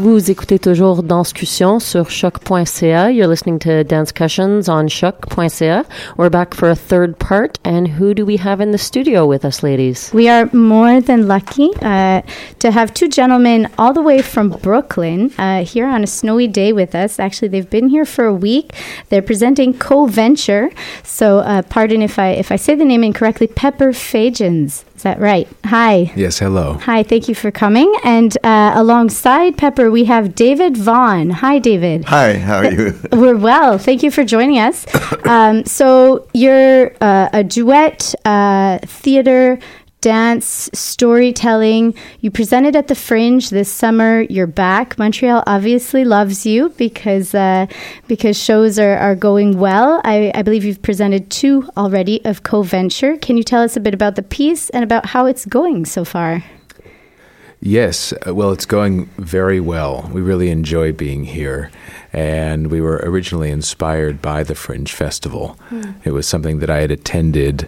Vous écoutez toujours Danscussion sur choc.ca. You're listening to Danscussions on choc.ca. We're back for a third part. And who do we have in the studio with us, ladies? We are more than lucky to have two gentlemen all the way from Brooklyn here on a snowy day with us. Actually, they've been here for a week. They're presenting Co-Venture. So pardon if I say the name incorrectly. Pepper Fagins. Is that right? Hi. Yes, hello. Hi, thank you for coming. And alongside Pepper, we have David Vaughn. Hi, David. Hi, how are you? We're well. Thank you for joining us. So you're a duet, theater, dance, storytelling. You presented at the Fringe this summer. You're back. Montreal obviously loves you because shows are going well. I believe you've presented 2 already of Co-Venture. Can you tell us a bit about the piece and about how it's going so far? Yes, well, it's going very well. We really enjoy being here. And we were originally inspired by the Fringe Festival. It was something that I had attended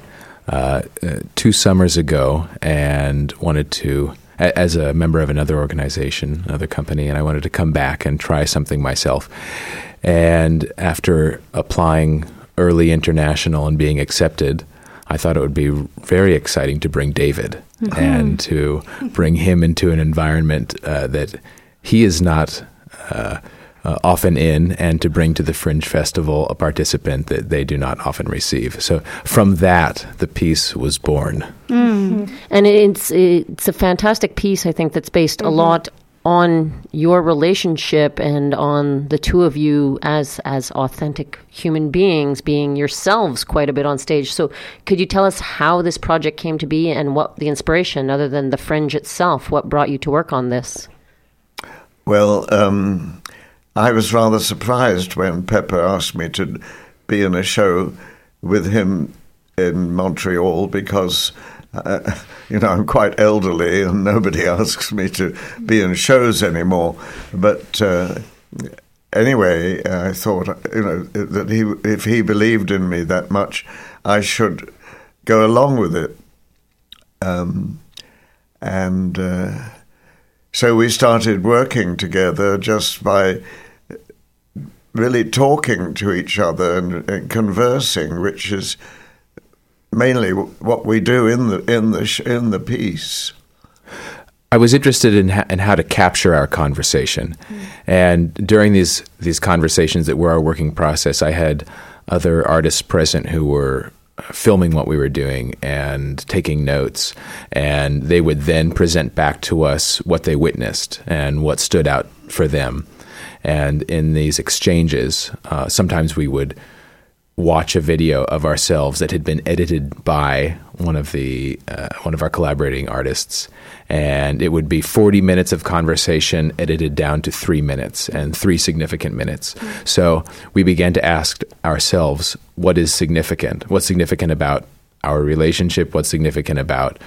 2 summers ago and wanted to, as a member of another organization, another company, and I wanted to come back and try something myself. And after applying early international and being accepted, I thought it would be very exciting to bring David and to bring him into an environment that he is not often in, and to bring to the Fringe Festival a participant that they do not often receive. So from that, the piece was born. And it's a fantastic piece, I think, that's based a lot on your relationship and on the two of you as authentic human beings, being yourselves quite a bit on stage. So could you tell us how this project came to be and what the inspiration, other than the Fringe itself, what brought you to work on this? Well, I was rather surprised when Pepper asked me to be in a show with him in Montreal because, I'm quite elderly and nobody asks me to be in shows anymore. But anyway, I thought, that if he believed in me that much, I should go along with it. So we started working together just by really talking to each other and conversing, which is mainly what we do in the piece. I was interested in how to capture our conversation, and during these conversations that were our working process, I had other artists present who were filming what we were doing and taking notes, and they would then present back to us what they witnessed and what stood out for them. And in these exchanges, sometimes we would watch a video of ourselves that had been edited by one of our collaborating artists, and it would be 40 minutes of conversation edited down to 3 minutes and 3 significant minutes. So we began to ask ourselves, what is significant? What's significant about our relationship? What's significant about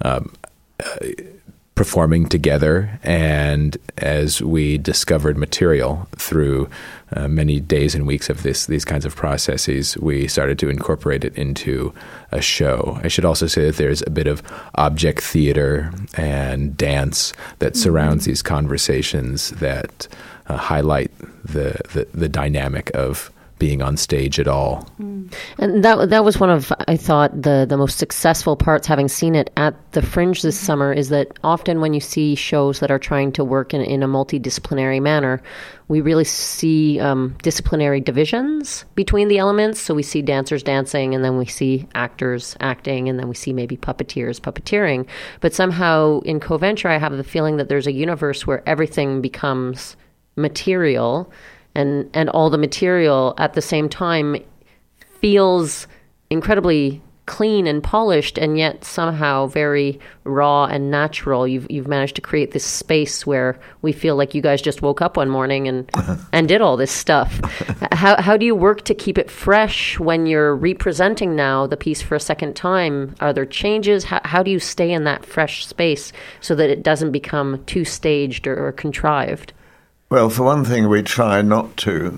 performing together? And as we discovered material through many days and weeks of these kinds of processes, we started to incorporate it into a show. I should also say that there's a bit of object theater and dance that surrounds these conversations that highlight the dynamic of being on stage at all. And that was one of, I thought, the most successful parts, having seen it at the Fringe this summer, is that often when you see shows that are trying to work in a multidisciplinary manner, we really see disciplinary divisions between the elements. So we see dancers dancing, and then we see actors acting, and then we see maybe puppeteers puppeteering. But somehow in Co-Venture, I have the feeling that there's a universe where everything becomes material, and all the material at the same time feels incredibly clean and polished, and yet somehow very raw and natural. You've managed to create this space where we feel like you guys just woke up one morning and did all this stuff. How do you work to keep it fresh when you're representing now the piece for a second time? Are there changes? How do you stay in that fresh space so that it doesn't become too staged or contrived? Well, for one thing, we try not to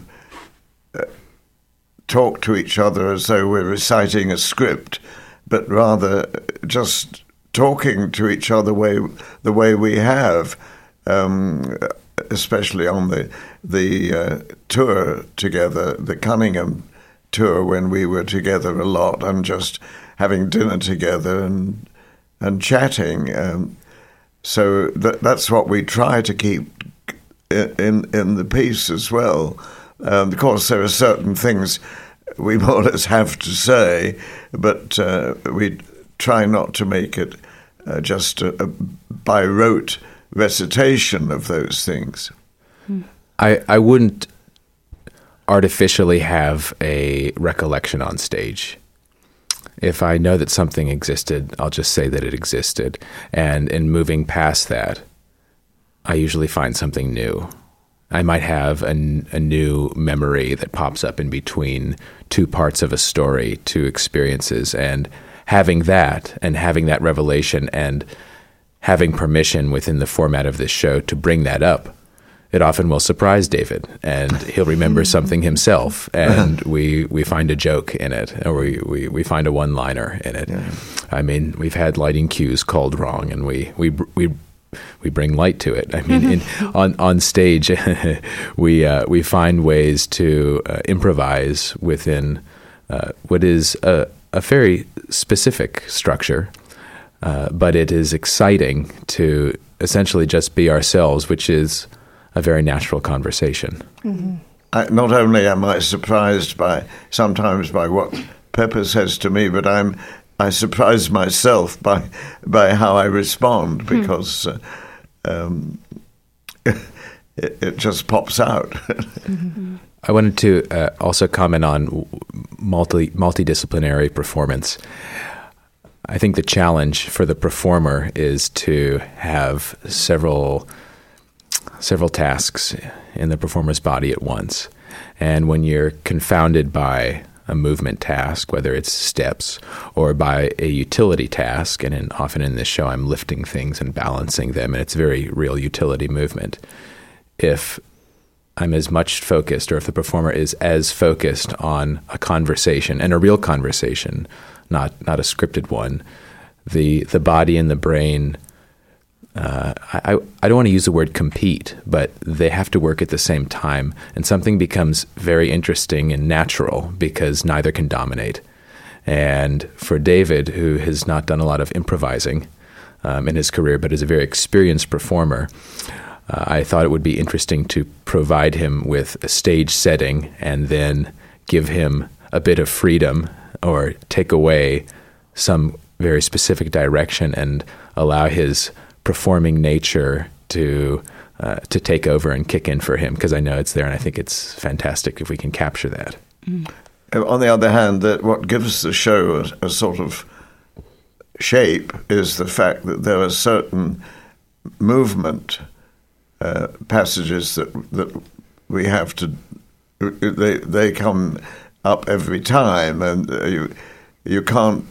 talk to each other as though we're reciting a script, but rather just talking to each other the way we have. especially on the tour together, the Cunningham tour, when we were together a lot and just having dinner together and chatting. So that's what we try to keep in the piece as well. Of course, there are certain things we more or less have to say, but we try not to make it just a by rote recitation of those things. I wouldn't artificially have a recollection on stage. If I know that something existed, I'll just say that it existed. And in moving past that, I usually find something new. I might have a new memory that pops up in between two parts of a story, two experiences, and having that revelation and having permission within the format of this show to bring that up, it often will surprise David, and he'll remember something himself, and we find a joke in it, or we find a one-liner in it. Yeah. I mean, we've had lighting cues called wrong, and we bring light to it. I mean, on stage, we find ways to improvise within what is a very specific structure, but it is exciting to essentially just be ourselves, which is a very natural conversation. Mm-hmm. Not only am I surprised sometimes by what Pepper says to me, but I surprise myself by how I respond, because it just pops out. Mm-hmm. I wanted to also comment on multidisciplinary performance. I think the challenge for the performer is to have several tasks in the performer's body at once. And when you're confounded by a movement task, whether it's steps, or by a utility task, and often in this show I'm lifting things and balancing them, and it's very real utility movement. If I'm as much focused, or if the performer is as focused on a conversation, and a real conversation, not a scripted one, the body and the brain, I don't want to use the word compete, but they have to work at the same time, and something becomes very interesting and natural because neither can dominate. And for David, who has not done a lot of improvising in his career, but is a very experienced performer, I thought it would be interesting to provide him with a stage setting and then give him a bit of freedom, or take away some very specific direction and allow his performing nature to take over and kick in for him, because I know it's there, and I think it's fantastic if we can capture that. On the other hand, that what gives the show a sort of shape is the fact that there are certain movement passages that we have to. They come up every time, and you can't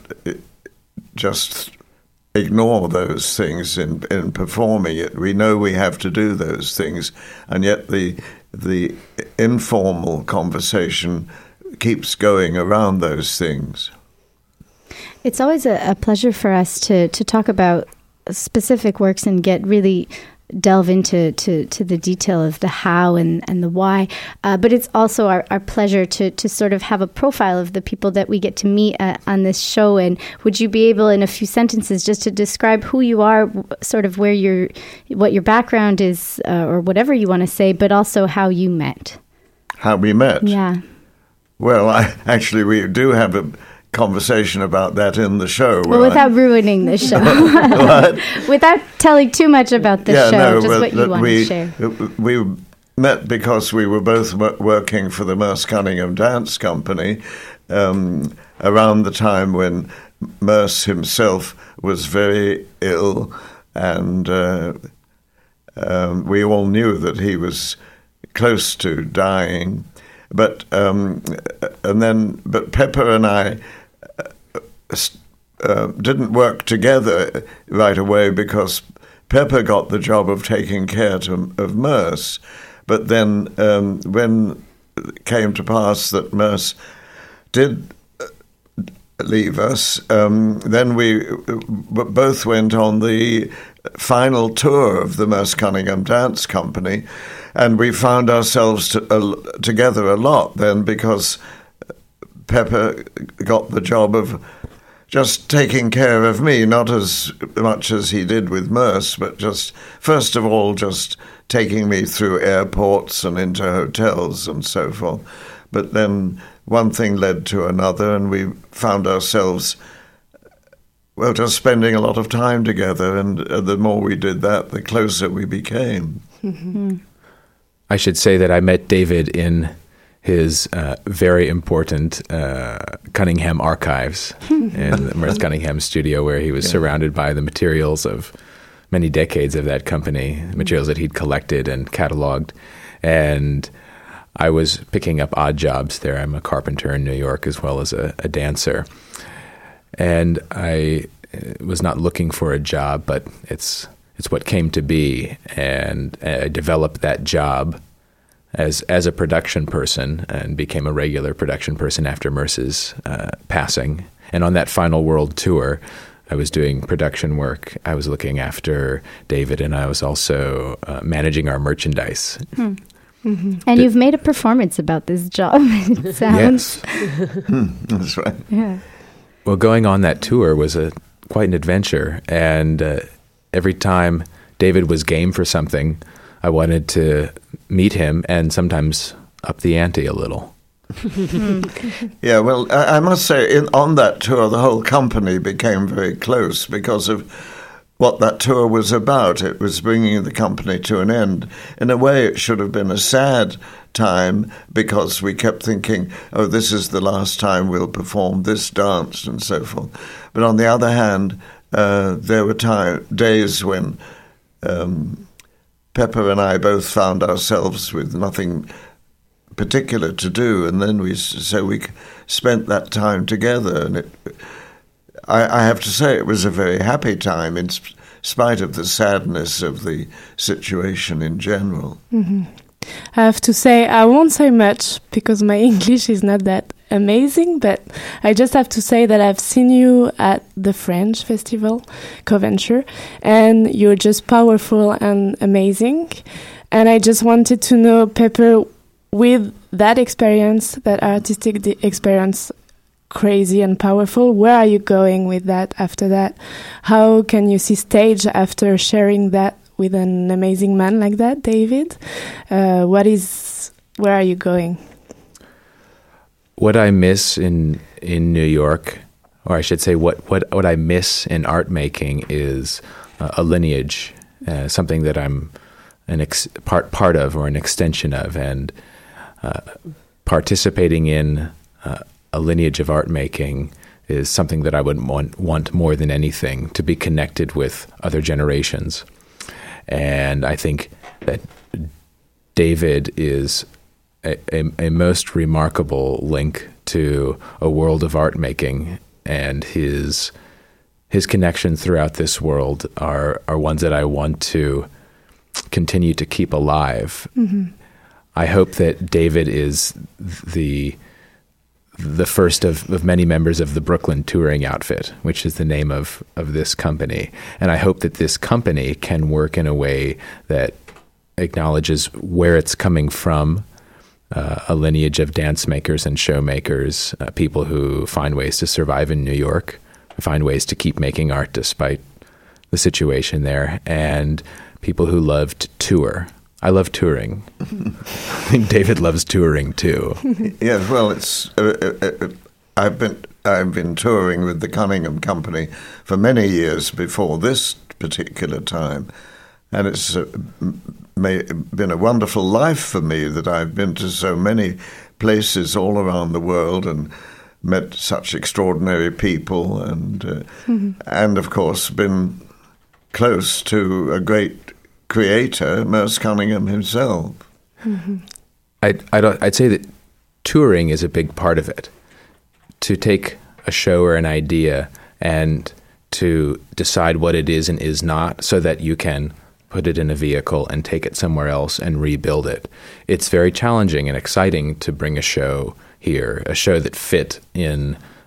just ignore those things in performing it. We know we have to do those things, and yet the informal conversation keeps going around those things. It's always a pleasure for us to talk about specific works and get really delve into the detail of the how and the why. But it's also our pleasure to sort of have a profile of the people that we get to meet on this show. And would you be able, in a few sentences, just to describe who you are, sort of what your background is, or whatever you want to say, but also how you met? How we met? Yeah. Well, we do have a conversation about that in the show. Well, without ruining the show. Without telling too much about the show, just what you want to share. We met because we were both working for the Merce Cunningham Dance Company around the time when Merce himself was very ill, and we all knew that he was close to dying. But Pepper and I didn't work together right away, because Pepper got the job of taking care of Merce. But then when it came to pass that Merce did leave us, then we both went on the final tour of the Merce Cunningham Dance Company, and we found ourselves together a lot then, because Pepper got the job of just taking care of me, not as much as he did with Merce, but just, first of all, just taking me through airports and into hotels and so forth. But then one thing led to another, and we found ourselves, well, just spending a lot of time together, and the more we did that, the closer we became. Mm-hmm. I should say that I met David in his very important Cunningham archives in the Merce Cunningham studio, where he was surrounded by the materials of many decades of that company, materials that he'd collected and cataloged. And I was picking up odd jobs there. I'm a carpenter in New York as well as a dancer. And I was not looking for a job, but it's what came to be. And I developed that job as a production person, and became a regular production person after Merce's passing. And on that final world tour, I was doing production work. I was looking after David, and I was also managing our merchandise. Mm-hmm. And you've made a performance about this job. It sounds. Yes. That's right. Yeah. Well, going on that tour was quite an adventure, and every time David was game for something, I wanted to meet him and sometimes up the ante a little. Yeah, well, I must say, on that tour, the whole company became very close because of what that tour was about. It was bringing the company to an end. In a way, it should have been a sad time, because we kept thinking, oh, this is the last time we'll perform this dance and so forth. But on the other hand, there were days when Pepper and I both found ourselves with nothing particular to do, and then we spent that time together, and I have to say it was a very happy time in spite of the sadness of the situation in general. Mm-hmm. I have to say, I won't say much because my English is not that amazing, but I just have to say that I've seen you at the French Festival, Coventry, and you're just powerful and amazing. And I just wanted to know, Pepper, with that experience, that artistic experience, crazy and powerful, where are you going with that after that? How can you see stage after sharing that with an amazing man like that, David? Where are you going? What I miss in New York, or I should say what I miss in art making, is a lineage, something that I'm part of or an extension of, and participating in a lineage of art making is something that I would want more than anything, to be connected with other generations. And I think that David is a most remarkable link to a world of art making, and his connections throughout this world are ones that I want to continue to keep alive. Mm-hmm. I hope that David is the first of many members of the Brooklyn touring outfit, which is the name of this company. And I hope that this company can work in a way that acknowledges where it's coming from, a lineage of dance makers and show makers, people who find ways to survive in New York, find ways to keep making art despite the situation there, and people who love to tour. I love touring. I think David loves touring too. Yes, well, I've been touring with the Cunningham Company for many years before this particular time, and it's been a wonderful life for me that I've been to so many places all around the world and met such extraordinary people, and of course been close to a great creator, Merce Cunningham himself. Mm-hmm. I'd say that touring is a big part of it. To take a show or an idea and to decide what it is and is not, so that you can put it in a vehicle and take it somewhere else and rebuild it. It's very challenging and exciting to bring a show here, a show that fit in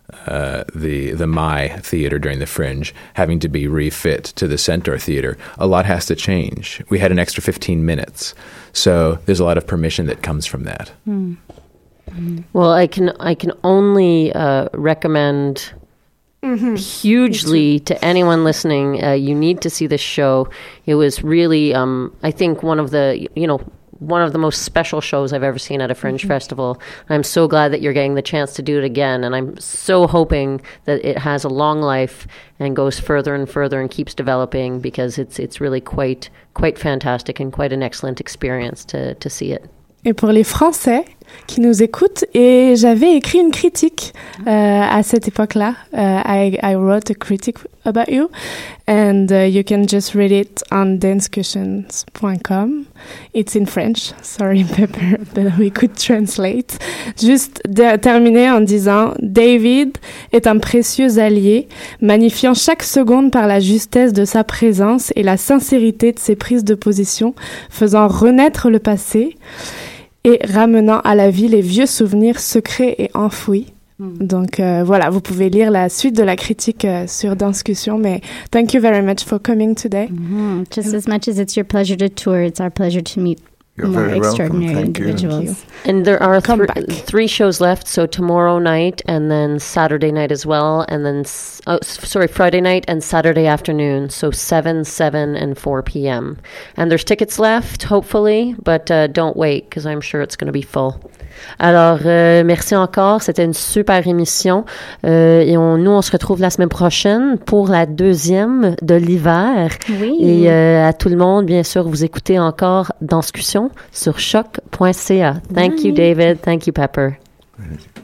the My Theater during the Fringe, having to be refit to the Centaur Theater, a lot has to change. We had an extra 15 minutes. So there's a lot of permission that comes from that. Mm. Well, I can only recommend hugely to anyone listening. You need to see this show. It was really, I think, one of the most special shows I've ever seen at a Fringe festival. I'm so glad that you're getting the chance to do it again, and I'm so hoping that it has a long life and goes further and further and keeps developing, because it's really quite fantastic and quite an excellent experience to see it. Et pour les Français qui nous écoutent, et j'avais écrit une critique à cette époque-là. I wrote a critic about you, and you can just read it on dancecussions.com. It's in French. Sorry, Pepper, but we could translate. Juste terminer en disant: David est un précieux allié, magnifiant chaque seconde par la justesse de sa présence et la sincérité de ses prises de position, faisant renaître le passé et ramenant à la vie les vieux souvenirs secrets et enfouis. Donc voilà, vous pouvez lire la suite de la critique sur Danscussion, mais thank you very much for coming today. Just as much as it's your pleasure to tour, it's our pleasure to meet You're more very extraordinary welcome. Thank individuals. you. And there are Come back. 3 shows left, so tomorrow night and then Saturday night as well, and then Friday night and Saturday afternoon, so 7, and 4 p.m. And there's tickets left, hopefully, but don't wait, because I'm sure it's going to be full. Alors, merci encore, c'était une super émission, et nous on se retrouve la semaine prochaine pour la 2e de l'hiver. Oui. Et à tout le monde, bien sûr, vous écoutez encore Danscussion sur choc.ca. Thank you, David. Thank you, Pepper.